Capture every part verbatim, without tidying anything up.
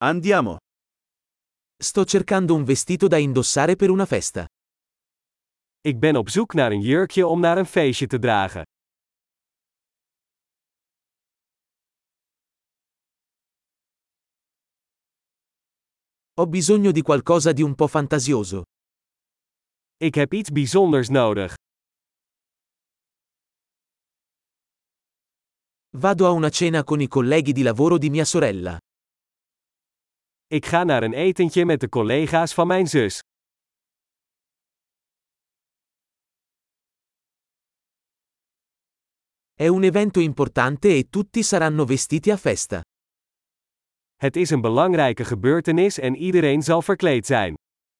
Andiamo. Sto cercando un vestito da indossare per una festa. Ik ben op zoek naar een jurkje om naar een feestje te dragen. Ho bisogno di qualcosa di un po' fantasioso. Ik heb iets bijzonders nodig. Vado a una cena con i colleghi di lavoro di mia sorella. Ik ga naar een etentje met de collega's van mijn zus. È un evento importante e tutti saranno vestiti a festa. Het is een belangrijke gebeurtenis en iedereen zal verkleed zijn.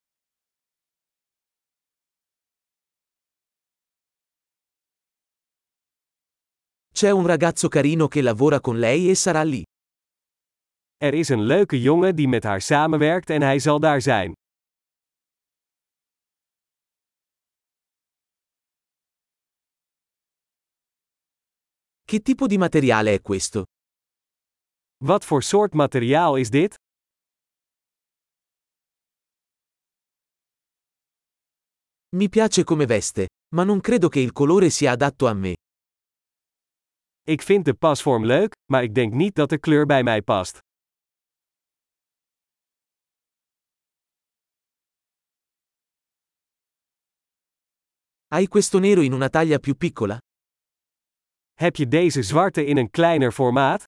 C'è un ragazzo carino che lavora con lei e sarà lì. Er is een leuke jongen die met haar samenwerkt en hij zal daar zijn. Che tipo di materiale è questo? Wat voor soort materiaal is dit? Mi piace come veste, ma non credo che il colore sia adatto a me. Ik vind de pasvorm leuk, maar ik denk niet dat de kleur bij mij past. Hai questo nero in una taglia più piccola? Heb je deze zwarte in een kleiner formaat?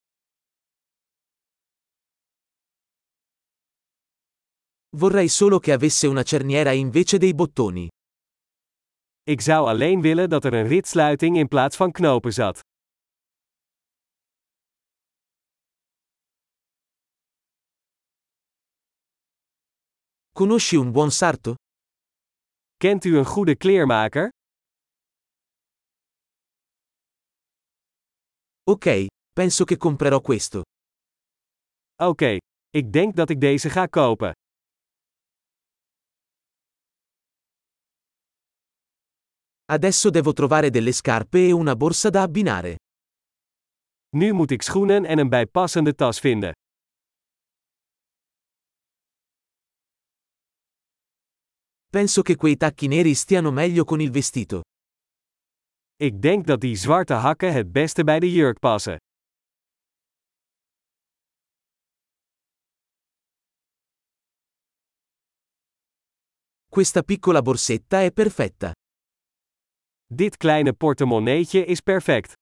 Vorrei solo che avesse una cerniera invece dei bottoni. Ik zou alleen willen dat er een ritsluiting in plaats van knopen zat. Conosci un buon sarto? Kent u een goede kleermaker? Ok, penso che comprerò questo. Oké, okay, ik denk dat ik deze ga kopen. Adesso devo trovare delle scarpe e una borsa da abbinare. Nu moet ik schoenen en een bijpassende tas vinden. Penso che quei tacchi neri stiano meglio con il vestito. Ik denk dat die zwarte hakken het beste bij de jurk passen. Questa piccola borsetta è perfetta. Dit kleine portemonneetje is perfect.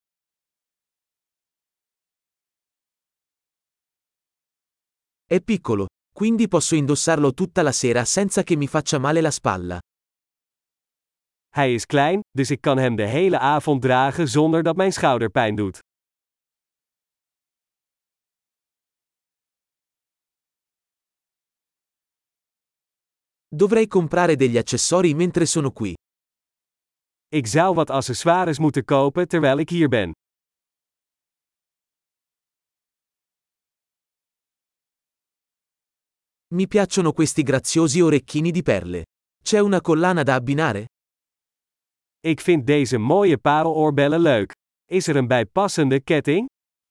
È piccolo, quindi posso indossarlo tutta la sera senza che mi faccia male la spalla. Hij is klein, dus ik kan hem de hele avond dragen zonder dat mijn schouder pijn doet. Dovrei comprare degli accessori mentre sono qui. Ik zou wat accessoires moeten kopen terwijl ik hier ben. Mi piacciono questi graziosi orecchini di perle. C'è una collana da abbinare? Ik vind deze mooie pareloorbellen leuk. Is er een bijpassende ketting?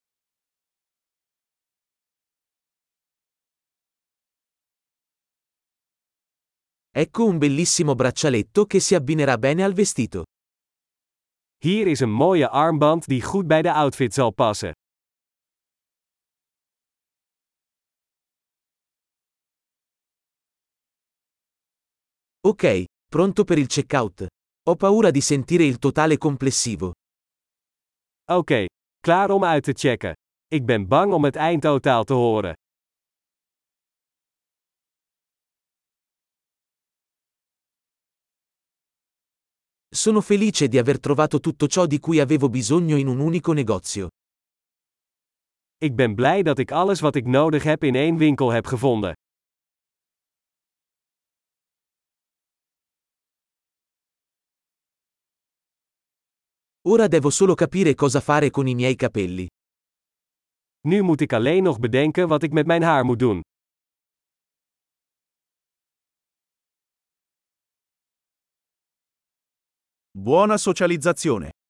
Ecco un bellissimo braccialetto che si abbinerà bene al vestito. Hier is een mooie armband die goed bij de outfit zal passen. Ok, pronto per il checkout. Ho paura di sentire il totale complessivo. Oké, okay, klaar om uit te checken. Ik ben bang om het eindtotaal te horen. Sono felice di aver trovato tutto ciò di cui avevo bisogno in un unico negozio. Ik ben blij dat ik alles wat ik nodig heb in één winkel heb gevonden. Ora devo solo capire cosa fare con i miei capelli. Nu moet ik alleen nog bedenken wat ik met mijn haar moet doen. Buona socializzazione.